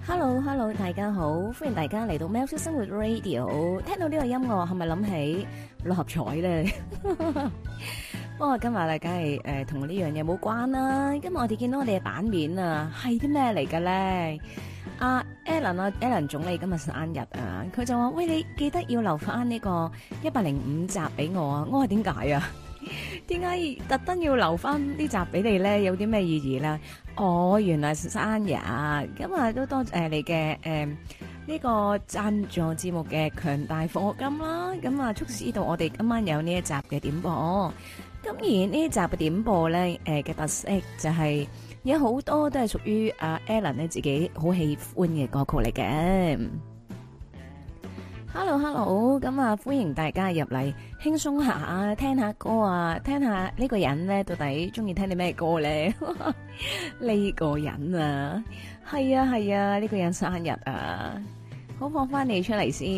Hello，大家好，歡迎大家嚟到喵式生活 Radio。聽到呢個音樂，係咪諗起六合彩咧？不過今日咧，梗係同呢樣嘢冇關啦。今日我哋見到我哋嘅版面啊，係啲咩嚟嘅咧？阿 Alan 總理今日生日啊，佢就話：喂，你記得要留翻呢個105集俾我啊！我話點解啊？點解特登要留翻呢集俾你咧？有啲咩意義咧？哦，原來生日咁啊，都多謝你嘅呢個贊助節目嘅強大課金啦。咁啊，促使到我哋今晚有呢一集嘅點播。咁而呢一集嘅點播咧，嘅特色就係有好多都係屬於阿 Alan 咧自己好喜歡嘅歌曲嚟嘅。Hello，咁啊，歡迎大家入嚟輕鬆下聽下歌啊，聽下呢個人咧到底中意聽啲咩歌咧？呢個人啊，係啊，呢個人生日啊，好放翻你出嚟先。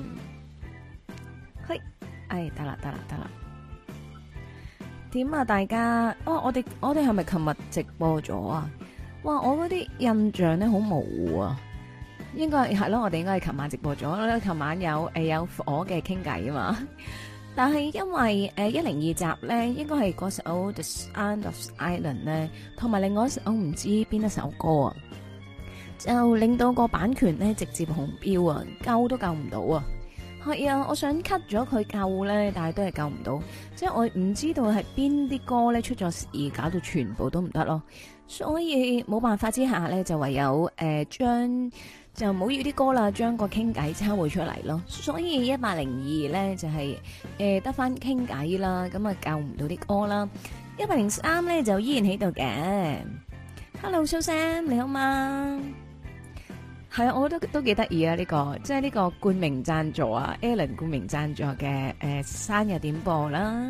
嘿，得啦。點啊，大家？我哋係咪琴日直播咗啊？哇，我嗰啲印象咧好模糊啊。應該係咯，我哋應該係琴晚直播咗。琴晚有火嘅傾偈啊嘛，但係因為102集咧，應該係嗰首 The Sound of Silence 咧，同埋另外一首唔知邊一首歌啊，就令到個版權咧直接紅標啊，救都救唔到啊。係啊，我想 cut 咗佢救咧，但係都係救唔到，即係我唔知道係邊啲歌咧出咗事，搞到全部都唔得咯。所以冇辦法之下咧，就唯有就唔好要啲歌啦，將個傾偈抄回出嚟咯。所以102咧就係得翻傾偈啦，咁啊救唔到啲歌啦。103咧就依然喺度嘅。Hello， 蘇 Sam 你好嗎？係啊，我覺得都幾得意啊！呢個即係呢個冠名贊助啊 ，Alan 冠名贊助嘅生日點播啦。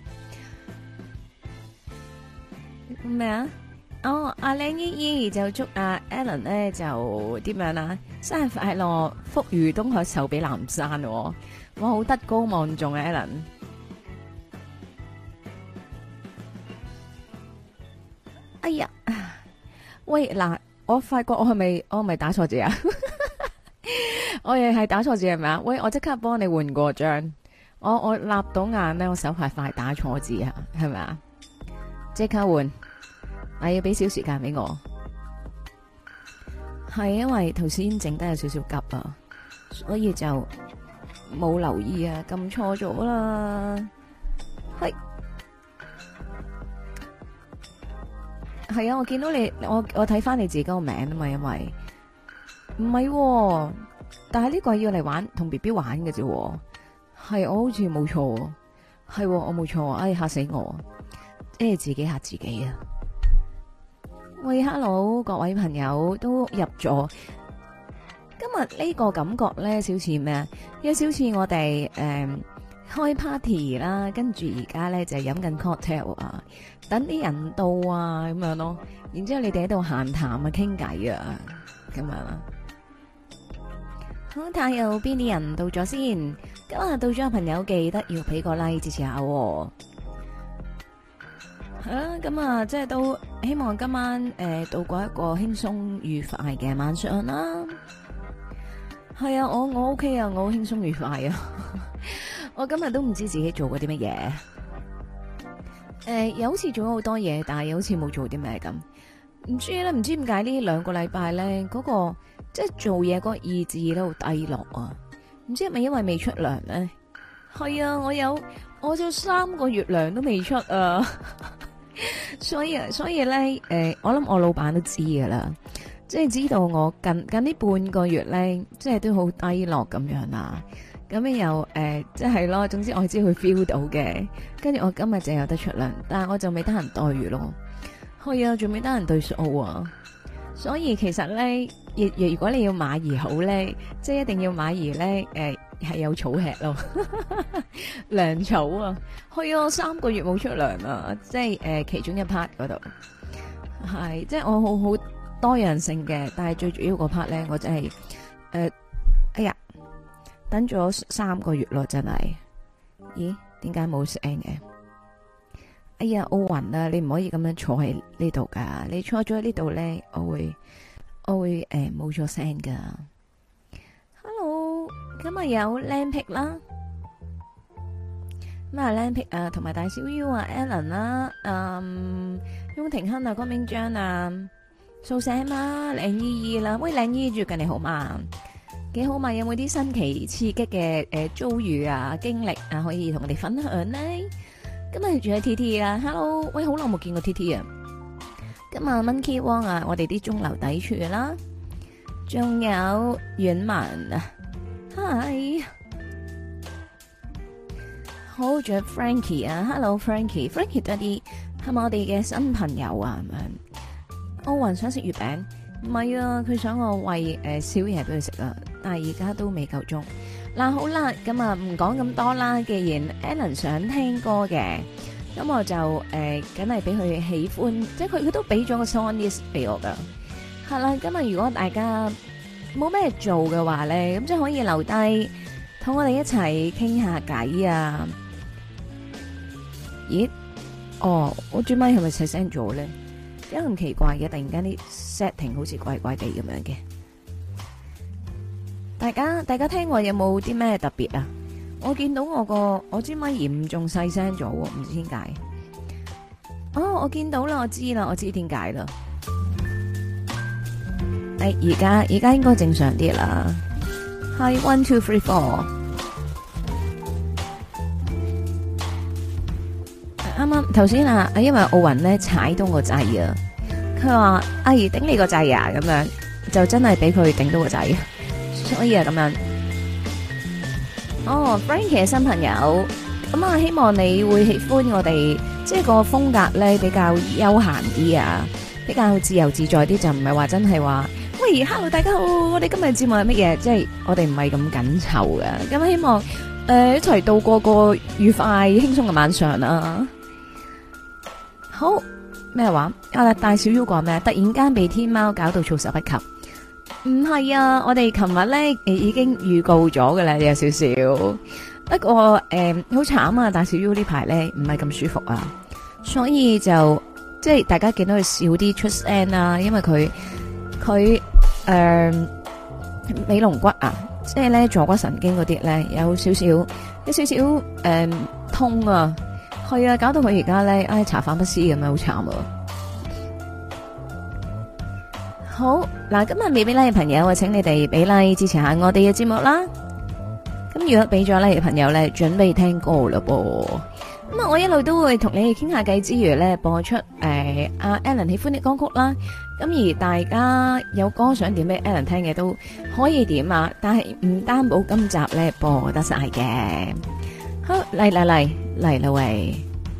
咩啊？哦，阿靚姨姨就祝阿 Alan 咧就點樣啊？生日快樂，福如東海，壽比南山。我好德高望重啊 ，Alan。哎呀，喂嗱，我發覺我係咪打錯字啊？我亦係打錯字係咪啊？喂，我即刻幫你換過張。我立到眼咧，我手快打錯字啊，係咪啊？即刻換。要俾少時間俾我，係因為頭先整得有少少急啊，所以就冇留意啊，撳錯咗啦。係啊，我見到你，我睇翻你自己個名啊嘛，因為唔係，但係呢個係要嚟玩同 BB 玩嘅啫，係我好似冇錯，係我冇錯，嚇死我，即係自己嚇自己啊！喂 ，hello， 各位朋友都入咗。今日呢個感覺咧，少似咩啊？有少似我哋開 party 啦，跟住而家咧就飲緊 cocktail 啊，等啲人到啊咁樣咯。然之後你哋喺度閒談啊，傾偈啊，咁樣啦。好，睇下有邊啲人到咗先。今日到咗嘅朋友記得要俾個 like 支持下。係啦，咁啊，即係都希望今晚度過一個輕鬆愉快嘅晚上啦。係啊，我 OK 啊，我好輕鬆愉快啊。我今日都唔知自己做過啲乜嘢。又好似做咗好多嘢，但係又好似冇做啲咩咁。唔知咧，唔知點解呢2個禮拜咧，嗰個即係做嘢嗰個意志都好低落啊。唔知係咪因為未出糧咧？係啊，我就3個月糧都未出啊。所以咧，我諗我老闆都知噶啦，即係知道我近呢半個月咧，即係都好低落咁樣啦。咁樣又即係咯，總之我知佢 feel 到嘅。跟住我今日就有得出糧，但係我就未得閒待遇咯。係啊，仲未得閒對數啊。所以其實咧，如果你要馬兒好咧，即係一定要馬兒咧，係有草吃咯，糧草啊，係啊，3個月冇出糧啊，即係其中一 part 嗰度，係即係我好多樣性嘅，但係最主要嗰 part 咧，我真係哎呀，等咗3個月咯，真係，咦，點解冇聲嘅？哎呀，奧運啊，你唔可以咁樣坐喺呢度噶，你坐咗喺呢度咧，我會我會冇咗聲噶。Hello， 今日有靚皮啦，咁啊靚皮啊，同埋大小 U 啊 ，Alan 啦，雍廷亨啊，江明章啊，蘇醒啦，靚姨姨啦，喂靚姨最近你好嘛？幾好嘛？有冇啲新奇刺激嘅遭遇啊經歷啊可以同我哋分享呢？今日仲有 T T 啊 ，Hello， 喂，好耐冇見過 T T 啊。今日 Monkey Wong 啊，我哋啲中流砥柱啦，仲有遠文啊 ，Hi， 好，仲有 Frankie 啊 ，Hello Frankie 多啲係咪我哋嘅新朋友啊？咁樣，奧運想食月餅，唔係啊，佢想我餵宵夜俾佢食啊，但係而家都未夠鐘。嗱好啦，咁啊唔講咁多啦。既然 Alan 想聽歌嘅，咁我就梗係俾佢喜歡，即係佢都俾咗個 song list 俾我噶。係啦，今日如果大家冇咩做嘅話咧，咁即係可以留低同我哋一齊傾下偈啊。咦？哦，我轉咪係咪細聲咗咧？點解咁奇怪嘅？突然間啲 setting 好似怪怪地咁樣嘅。大家聽我有冇啲咩特別啊？我見到我支咪嚴重細聲咗，唔知點解。哦，我見到啦，我知點解啦。而家應該正常啲啦。係 1 2 3 4。啱啱頭先啊，因為奧運咧踩到個掣啊，佢話阿姨頂你個掣啊，咁樣就真係俾佢頂到個掣。所以啊，咁樣。哦 ，Frankie 嘅新朋友，咁啊，希望你會喜歡我哋，即係個風格咧比較悠閒啲啊，比較自由自在啲，就唔係話真係話，喂 ，Hello 大家好，我哋今日節目係乜嘢？即係我哋唔係咁緊湊嘅，咁希望一齊度過個愉快輕鬆嘅晚上啦。好咩話？大小 U 講咩？突然間被天貓搞到措手不及。唔係啊，我哋琴日咧已經預告咗㗎啦，有少少。不過好慘啊，大小 U 呢排咧唔係咁舒服啊，所以就即係大家見到佢少啲出聲啦，因為佢尾龍骨啊，即係咧坐骨神經嗰啲咧有少少痛啊，係啊，搞到佢而家咧茶飯不思咁樣，好慘啊！好嗱，今日未俾 like 嘅朋友，我請你哋俾 like 支持下我哋嘅節目啦。咁如果俾咗 like 嘅朋友咧，準備聽歌啦噃。咁啊，我一路都會同你哋傾下偈之餘咧，播出阿 Alan 喜歡嘅歌曲啦。咁而大家有歌想點俾 Alan 聽嘅都可以點啊，但係唔擔保今集咧播得晒嘅。好，嚟啦喂！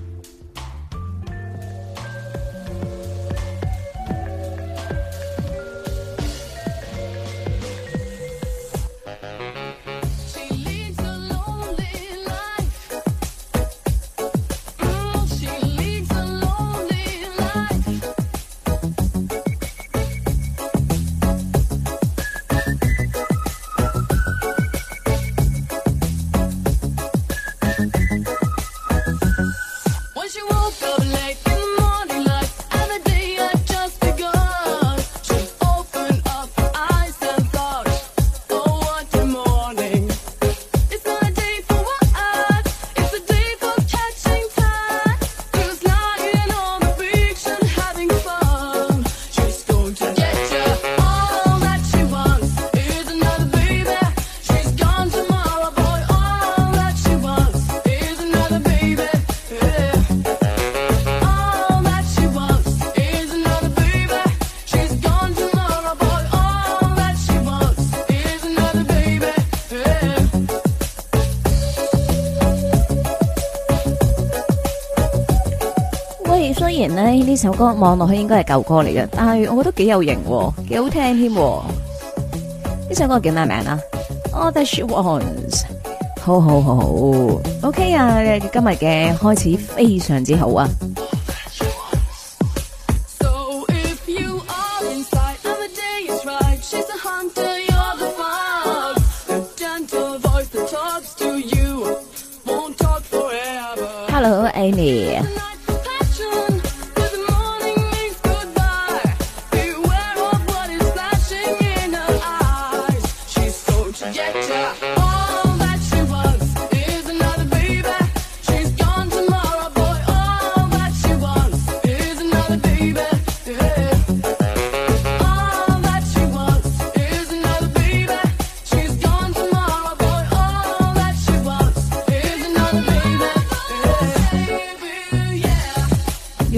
雖然咧呢首歌望落去應該係舊歌嚟嘅，但係我覺得幾有型，幾好聽添。呢首歌叫咩名啊？All That She Wants。好，OK 啊！今日嘅開始非常之好啊！Hello Amy。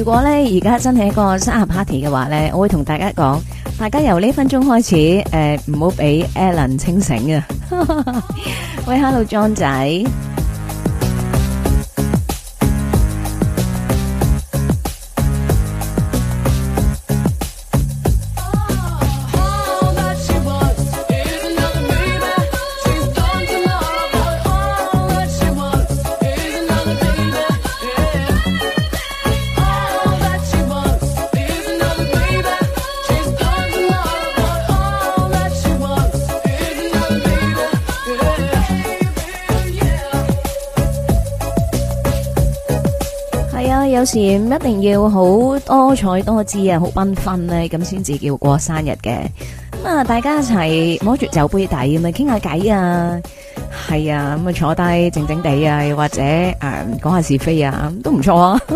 果咧而家真係一個生日 party 嘅話咧，我會同大家講，大家由呢分鐘開始，唔好俾 Alan 清醒啊！喂，Hello John 仔。有時唔一定要好多彩多姿啊，好繽紛咧，咁先至叫過生日嘅。咁啊，大家一齊摸住酒杯底咁啊，傾下偈啊，係啊，咁啊坐低靜靜地啊，又或者講下是非啊，都唔錯啊。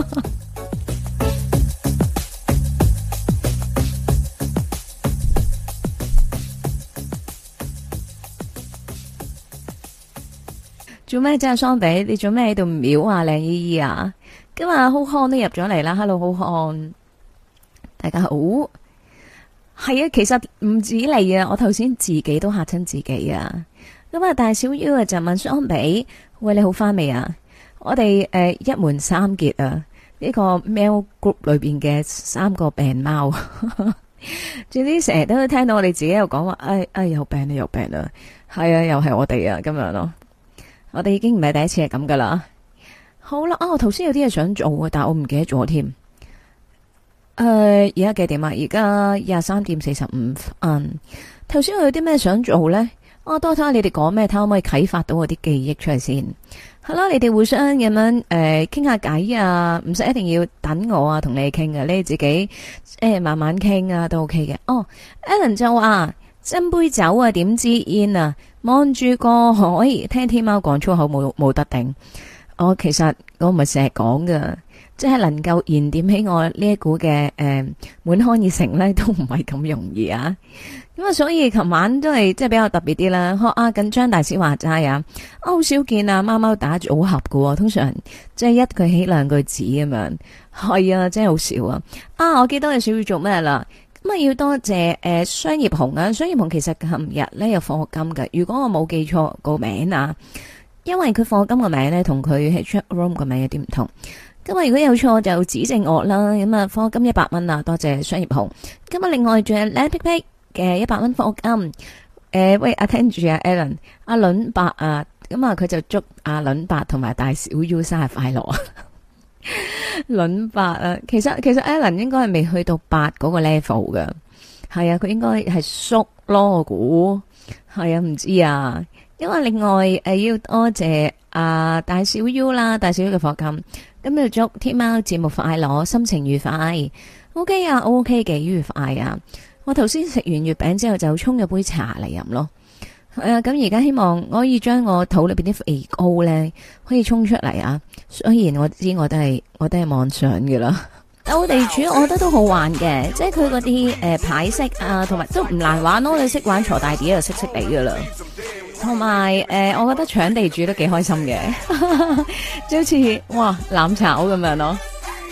做咩啫，桑比？你做咩喺度瞄啊，靚姨姨啊？今日好康都入咗嚟啦 ，Hello 好康，大家好。係啊，其實唔止你啊，我頭先自己都嚇親自己啊。咁啊，大小 U 啊就問桑比，喂，你好翻未啊？我哋一門三傑啊，呢個 mail group 裏邊嘅3個病貓，總之成日都聽到我哋自己又講話，又病啦又病啦，係啊，又係我哋啊咁樣咯。我哋已經唔係第一次係咁噶啦。好啦，我頭先有啲嘢想做啊，但係我唔記得咗添。而家幾點啊？而家23:45。頭先我有啲咩想做咧？多睇下你哋講咩，睇可唔可以啟發到我啲記憶出嚟先。係啦，你哋互相咁樣傾下偈啊，唔使一定要等我啊，同你哋傾啊，你哋自己慢慢傾啊，都 OK 嘅。Alan 就話斟杯酒啊，點支煙啊，望住個海，聽天喵講粗口冇得頂。其實我唔係成日講噶，即係能夠燃點起我呢一股嘅滿腔熱誠咧，都唔係咁容易啊！咁啊，所以琴晚都係即係比較特別啲啦。學緊張大師話齋啊，好少見啊，貓貓打組合噶，通常即係一句起兩句止咁樣。係啊，真係好少啊！我記得有少要做咩啦？咁啊，要多謝商業紅啊！商業紅其實琴日咧有課金嘅，如果我冇記錯個名啊。因為佢課金個名咧同佢喺 chat room 個名有啲唔同，咁啊如果有錯就指正我啦。咁啊課金100蚊啊，多謝商業紅。咁啊另外仲有靚皮皮嘅100蚊課金。喂，聽住啊 Alan， 阿倫伯啊，咁啊佢就祝阿倫伯同埋大小 U 生日快樂啊。倫伯啊，其實 Alan 應該係未去到8嗰個 level 噶，係啊，佢應該係叔咯，我估係啊，唔知啊。因為另外要多謝大小 U 啦，大小 U 嘅課金，咁要祝天喵節目快樂，心情愉快。OK 啊 ，OK 嘅愉快啊！我頭先食完月餅之後就沖咗杯茶嚟飲咯。咁而家希望我可以將我肚裏邊啲肥膏咧可以沖出嚟啊！雖然我知我都係妄想嘅啦。鬥地主我覺得都好玩嘅，即係佢嗰啲牌式啊，同埋都唔難玩咯。你識玩鋤大 D 就識地噶啦。同埋我覺得搶地主都幾開心嘅，就好似哇攬炒咁樣咯。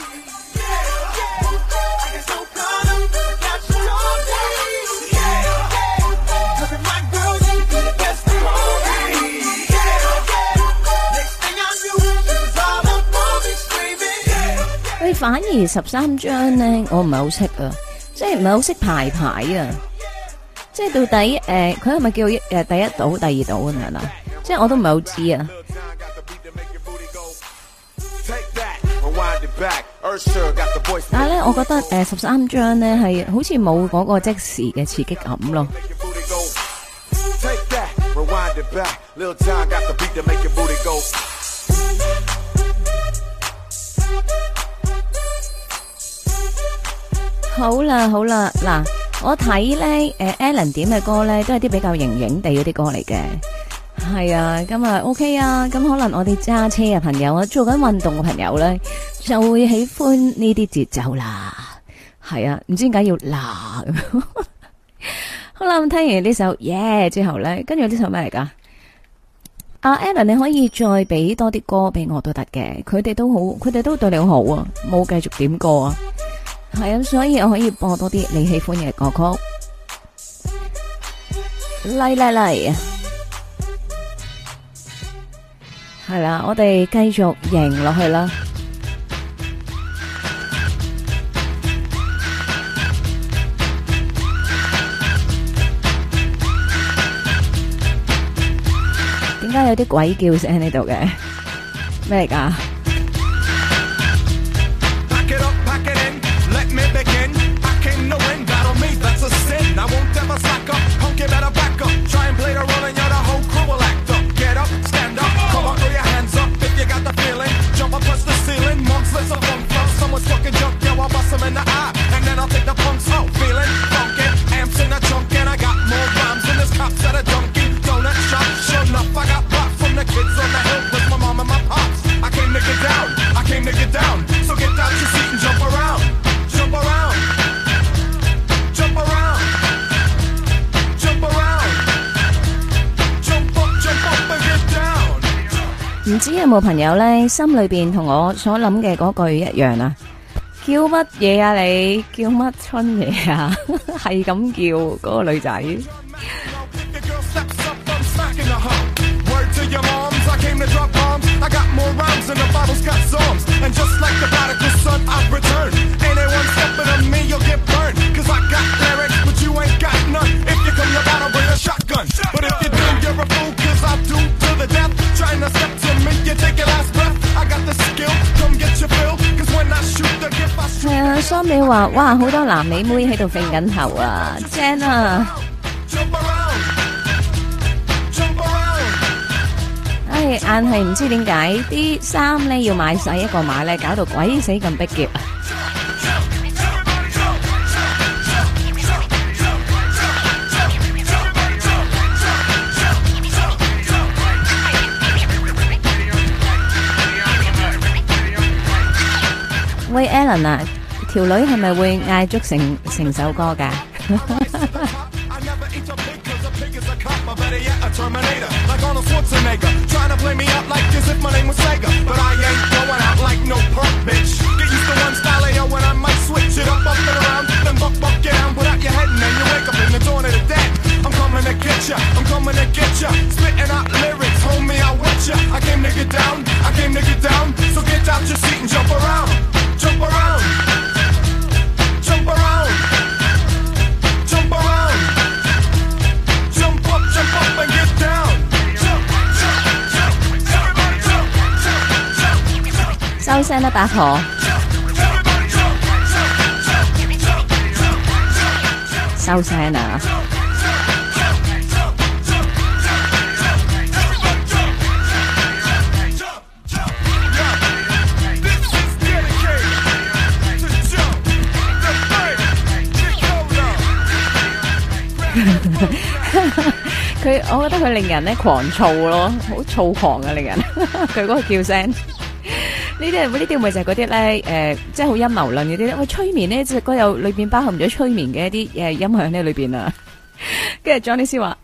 喂，反而13張咧，我唔係好識啊，即係唔係好識排啊。即係到底佢係咪叫第一賭、第二賭咁樣啊？即係我都唔係好知啊。但係咧，我覺得13張咧係好似冇嗰個即時嘅刺激感咯。好啦，嗱。我睇咧，Alan 點嘅歌咧，都係啲比較型型地嗰啲歌嚟嘅，係啊，咁啊 OK 啊，咁可能我哋揸車嘅朋友啊，做緊運動嘅朋友咧，就會喜歡呢啲節奏啦，係啊，唔知點解要啦咁。好啦，咁聽完呢首耶之後咧，跟住呢首咩嚟噶？ 阿 Alan 你可以再俾多啲歌俾我都得嘅，佢哋都好，佢哋都對你好好啊，冇繼續點歌啊，係啊，所以我可以播多啲你喜歡嘅歌曲，嚟嚟嚟，係啦，我哋繼續贏落去啦。點解有啲鬼叫聲喺呢度嘅？咩嚟㗎？唔知有冇朋友咧，心裏邊同我所諗嘅嗰句一樣啊？叫乜嘢啊你？叫乜春嘢啊？係咁叫嗰個女仔。係啊，桑美話：哇，好多男美妹喺度揈緊頭啊，正啊！唉，硬係唔知點解啲衫咧要買晒一個碼咧，搞到鬼死咁逼夾啊！喂 Alan 啊，條女係咪會嗌足成首歌㗎？ Jump around, jump around, jump around, jump up and get down. Jump, jump, jump, everybody jump, jump, jump, jump. 收聲啦，八婆！收聲啊！佢，我覺得佢令人咧狂躁咯，好躁狂啊！令人佢嗰個叫聲，呢啲咪就係嗰啲咧，即係好陰謀論嗰啲咧。喂，催眠呢隻歌有裏邊包含咗催眠嘅一啲音響喺裏邊啊。跟住 Johnny 先話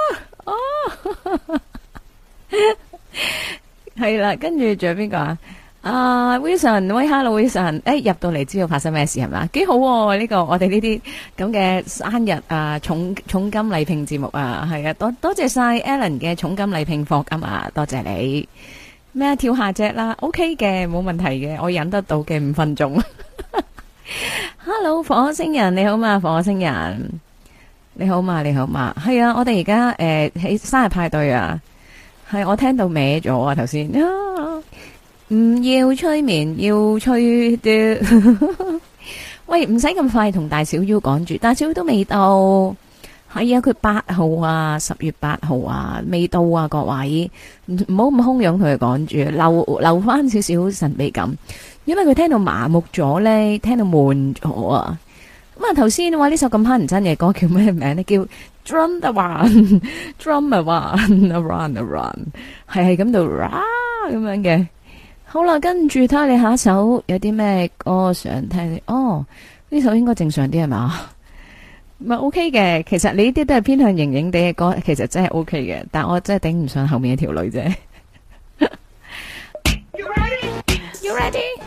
係啦，跟住仲有邊個啊？Wilson， 喂 ，Hello Wilson， 入到嚟知道發生咩事係嘛？幾好喎，呢個我哋呢啲咁嘅生日啊，重金禮聘節目啊，係啊，多謝晒 Alan 嘅重金禮聘課金啊，多謝你。咩跳下隻啦 ，OK 嘅，冇問題嘅，我忍得到嘅5分鐘。Hello 火星人你好嘛，火星人你好嘛，你好嘛，係啊，我哋而家喺生日派對啊，係我聽到歪咗啊頭先。唔要催眠，要催啲。喂，唔使咁快同大小 U 講住，大小 U 都未到。係啊，佢8號啊，10月8號啊，未到啊，各位唔好咁洶湧同佢講住，留翻少少神秘感，因為佢聽到麻木咗咧，聽到悶咗啊。咁啊，頭先話呢首咁乞人憎嘅歌叫咩名咧？叫 Drum the One，Drum the One，Around，係咁到咁樣嘅。好啦，跟住睇下你下一首有啲咩歌想聽？哦，呢首應該正常啲係嘛？ 唔係 OK 嘅，其實你呢啲都係偏向型型地嘅歌，其實真係 OK 嘅，但我真係頂唔上後面一條女啫。You ready? You ready?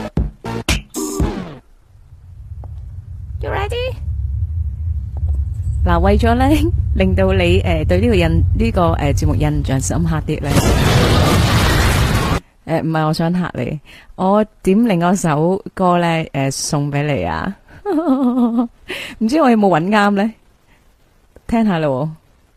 You ready? 嗱，為咗咧令到你對呢個節目印象深刻啲咧，唔係我想嚇你，我點另外一首歌咧送俾你啊！唔知我有冇揾啱咧？聽下咯。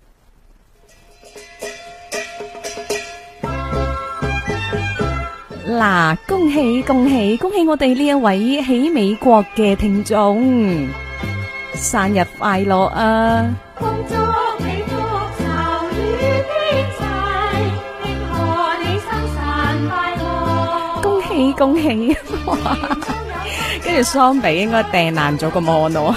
嗱，恭喜恭喜恭喜我哋呢一位喺美國嘅聽眾，生日快樂啊！ 恭祝你福壽與天齊，慶賀你生辰快樂。 恭喜恭喜！哇！跟住桑比應該掟爛咗個 mon 咯。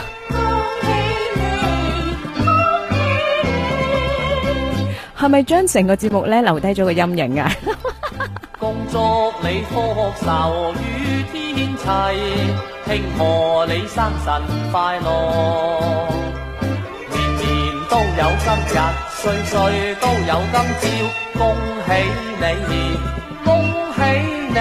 係咪將成個節目咧留低咗個陰影啊？ 恭祝你福壽與天齊，慶賀你生辰快樂，年年都有今日，歲歲都有今朝，恭喜你，恭喜你。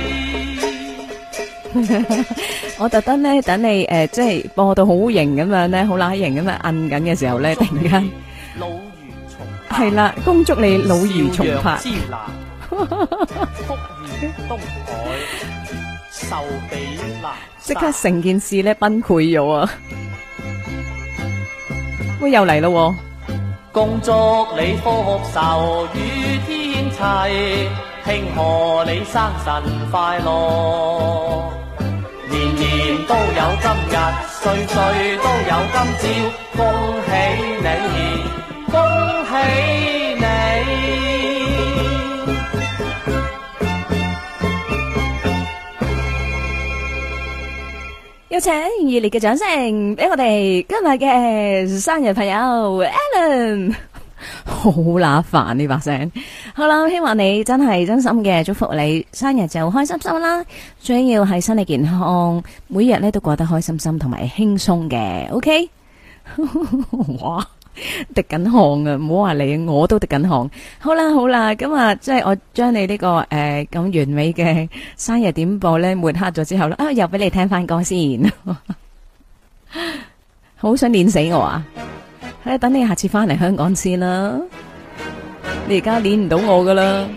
我特登咧等你即係播到好型咁樣咧，好乸型咁樣摁緊嘅時候咧，突然間老如重係啦，恭祝你老如重拍。 朝陽之南，福如東海，壽比南即刻成件事咧崩潰咗啊！喂，又嚟咯喎！ 恭祝你福壽與天齊，慶賀你生辰快樂，年年都有今日，歲歲都有今朝，恭喜你，恭喜你。 有請熱烈嘅掌聲俾我哋今日嘅生日朋友 Alan， 好乸煩呢把聲。好啦，希望你真係真心嘅祝福你生日就開心心啦，最要係身體健康，每日咧都過得開心心同埋輕鬆嘅。OK， 哇！滴緊汗啊！唔好話你，我都滴緊汗。好啦好啦，咁啊，即係我將你呢個咁完美嘅生日點播咧抹黑咗之後咧，啊又俾你聽翻歌先，好想練死我啊！等你下次翻嚟香港先啦，你而家練唔到我噶啦。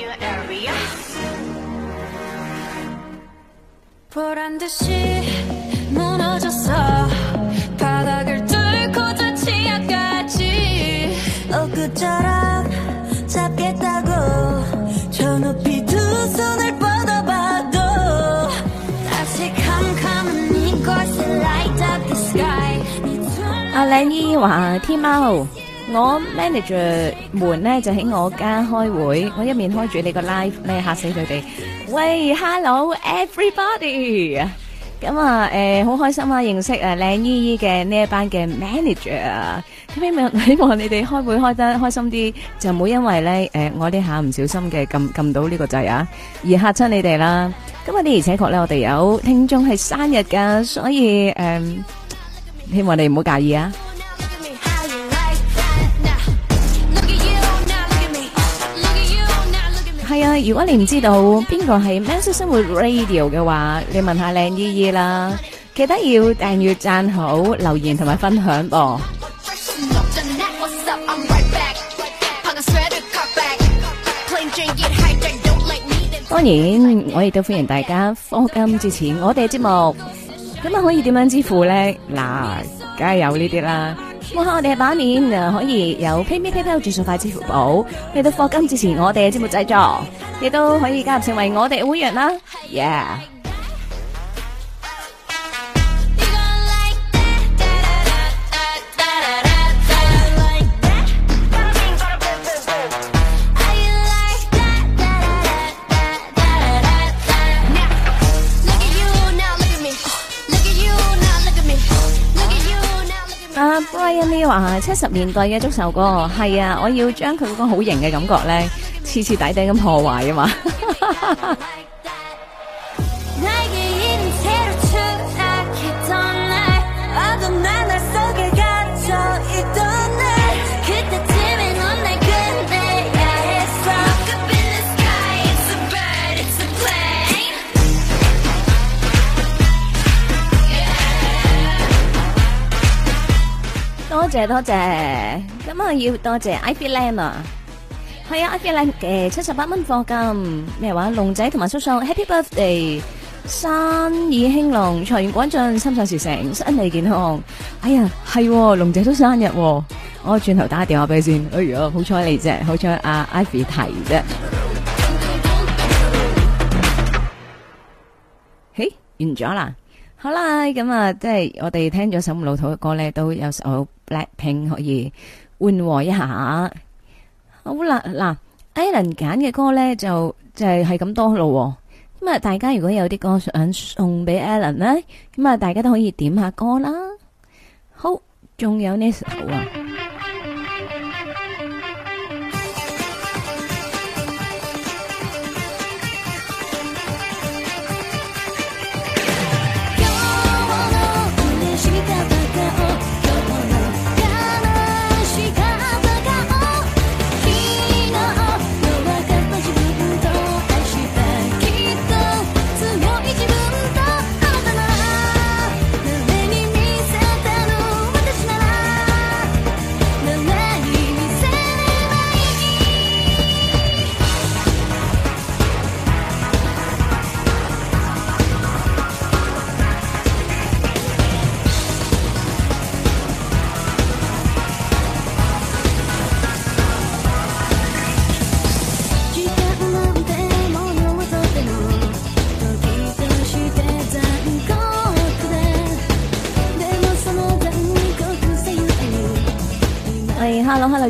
阿靚姨話天貓，我 manager 們呢就喺我家開會，我一面開住你個 live 咧嚇死佢哋。喂 ，hello everybody， 咁啊好開心啊認識啊靚姨姨嘅呢一班嘅 manager 啊，希望你哋開會開得開心啲，就唔好因為咧我呢下唔小心嘅撳到呢個掣啊，而嚇親你哋啦。咁啊啲而且確咧，我哋有聽眾係生日噶，所以希望你唔好介意啊！係啊，如果你唔知道邊個係喵式生活 Radio 嘅話，你問下靚姨姨啦。記得要訂閱、讚好、留言同埋分享噃。當然，我亦都歡迎大家課金支持我哋嘅節目。咁啊，可以點樣支付咧？嗱，梗係有呢啲啦。望下我哋嘅版面啊，可以有 PayMe、PayPal、轉數快、支付寶，嚟到課金支持我哋嘅節目製作，亦都可以加入成為我哋嘅會員啦。Yeah！Brian Lee 話70年代嘅足球歌，係啊，我要將佢嗰個好型嘅感覺咧，徹徹底底咁破壞啊嘛。 謝多謝，咁啊要多謝 Ivy Lam 啊，係啊 Ivy Lam 嘅78蚊課金，咩話龍仔同埋叔叔 Happy Birthday，生意興隆，財源廣進，心想事成，身體健康。哎呀，係龍仔都生日，我轉頭打個電話俾佢先。哎呀，好彩你啫，好彩阿 Ivy 提啫。嘿，完咗啦。好啦，咁啊，即係我哋聽咗首咁老土嘅歌咧，都有首 Blackpink 可以緩和一下。好啦，嗱 ，Alan 揀嘅歌咧就係咁多咯。咁啊，大家如果有啲歌想送俾 Alan 咧，咁啊，大家都可以點下歌啦。好，仲有呢首啊。Hello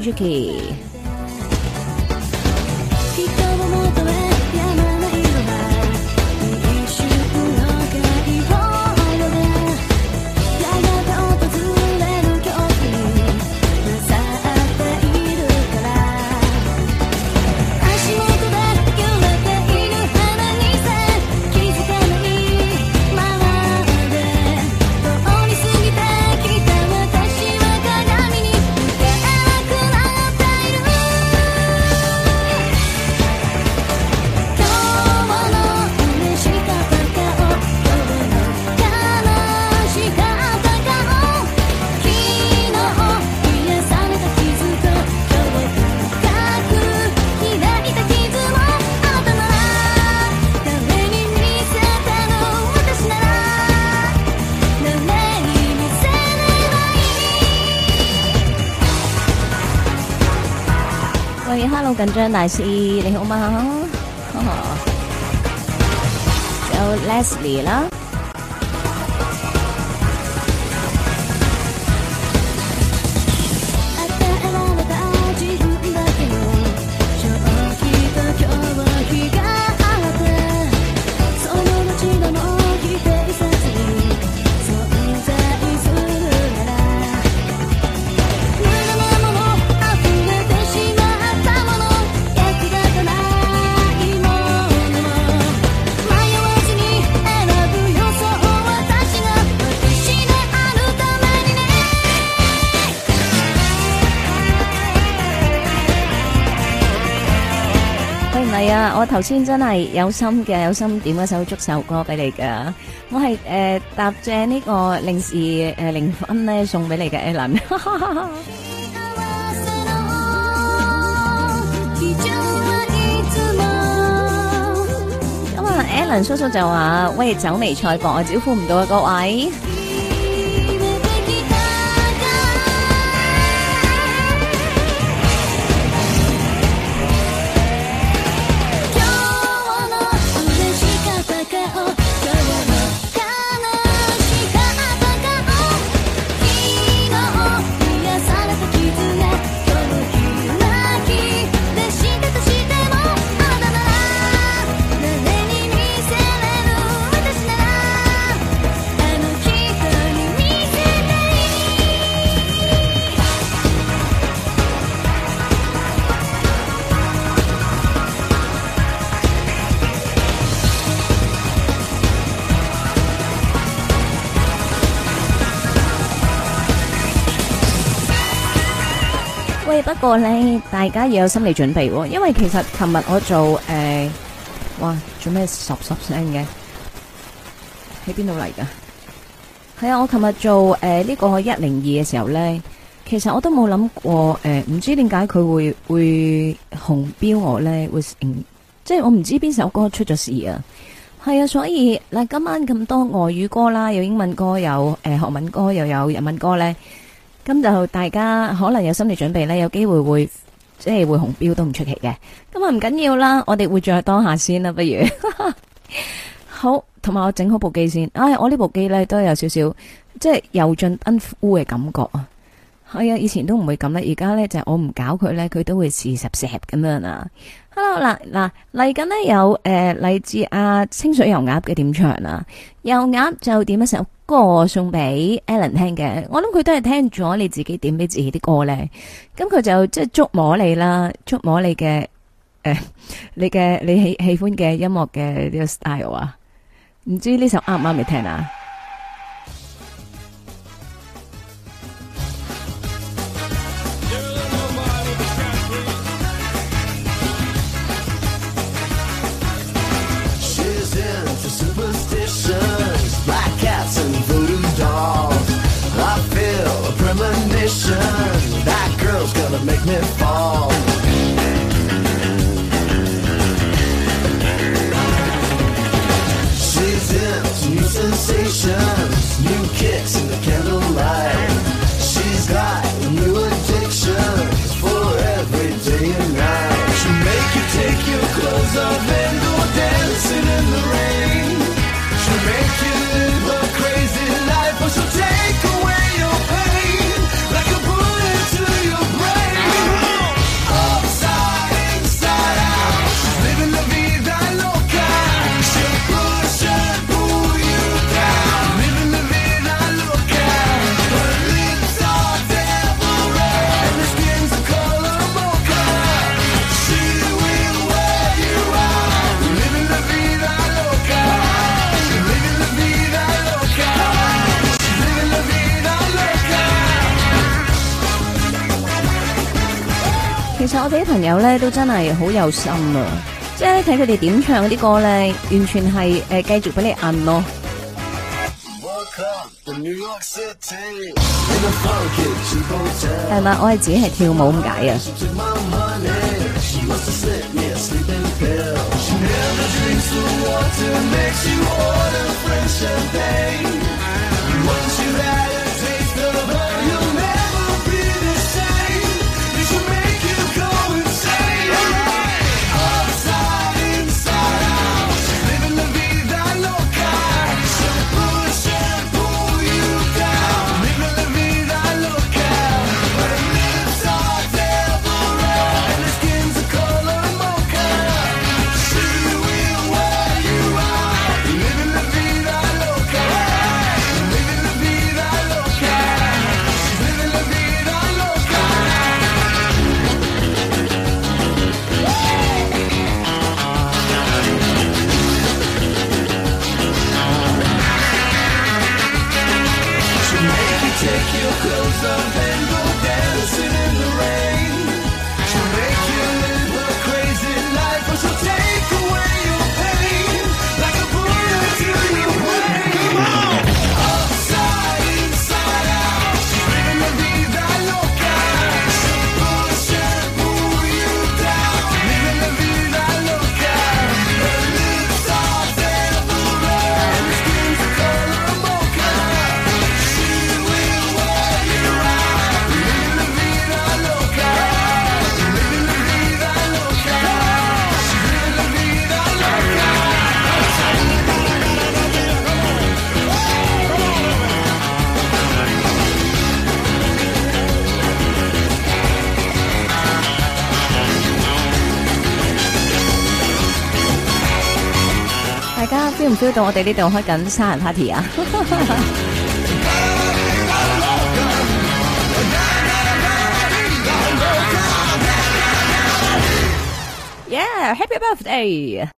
Juki。Hello 緊張大師你好嗎？有 Leslie 啦。我頭先真係有心嘅，有心點一首祝壽歌俾你噶。我係搭正呢個零時0分咧送俾你嘅 Alan。咁啊 ，Alan 叔叔就話：喂，走微賽博啊，招呼唔到啊，各位。不過咧，大家要有心理準備喎，因為其實琴日我做哇，做咩十聲嘅？喺邊度嚟噶？係啊，我琴日做呢個102嘅時候咧， 其實我都冇諗過，唔知點解佢會紅標我咧，即係我唔知邊首歌出咗事啊。係啊，所以嗱，今晚咁多外語歌啦，有英文歌，有韓文歌，又有日文歌咧，咁就大家可能有心理準備咧，有機會會即係會紅標都唔出奇嘅。咁啊唔緊要啦，我哋會再當下先啦，不如好，同埋我整好部機先。我呢部機咧都有少少即係油盡燈枯嘅感覺啊。係啊，以前都唔會咁啦，而家咧就係我唔搞佢咧，佢都會時十咁樣啊。Hello 嗱嚟緊呢有嚟自阿清水油鴨嘅點唱啊，油鴨就點一首歌送俾 Alan 聽嘅，我諗佢都係聽咗你自己點俾自己啲歌咧，咁佢就即係觸摸你啦，觸摸你嘅你喜歡嘅音樂嘅呢個 style 啊，唔知呢首啱唔啱你聽啊？ That girl's gonna make me fall. She's into new sensations, new kicks in the candlelight. She's got new addictions for every day and night. She'll make you take your clothes off and go dancing in the rain. She'll make you live a crazy life, but she'll take away your pain like a bullet to your brain. Upside, inside out, she's living la vida loca. She'll push and pull you down, living la vida loca. Her lips are devil red and her skin's the color mocha. She will wear you out, living la vida loca. She's living la vida loca. She's living la vida loca. 其實我哋啲朋友咧都真係好有心啊，即係睇佢哋點唱嗰啲歌咧，完全係繼續俾你摁咯。 Woke up in New York City in a funky cheap hotel. 係咪？我係自己係跳舞咁解啊！ She took my money. She wants to slip me a sleeping pill. She never drinks the water, makes you order French champagne. Once you've had a taste of her, you'll never be the same. It should make you go insane. Upside, inside out, she's living la vida loca. She'll push and pull you down, living la vida loca. Her lips are devil red and her skin's the color mocha. She will wear you out, living la vida loca. Living la vida loca. She's living la vida loca. 'She'll make you take your clothes off and go dancing in the rain. She'll make you live a crazy life, but she'll take away your pain like a bullet to your brain. Upside, inside out, she's living la vida loca. She'll push and pull you down, living la vida loca. Her lips are devil red and her skin's the color mocha. She will wear you out, living la vida loca. Living la vida loca. She's living la vida loca. 〜大家 feel 唔 feel 到我哋呢度開緊生日 party 啊？Yeah, happy birthday！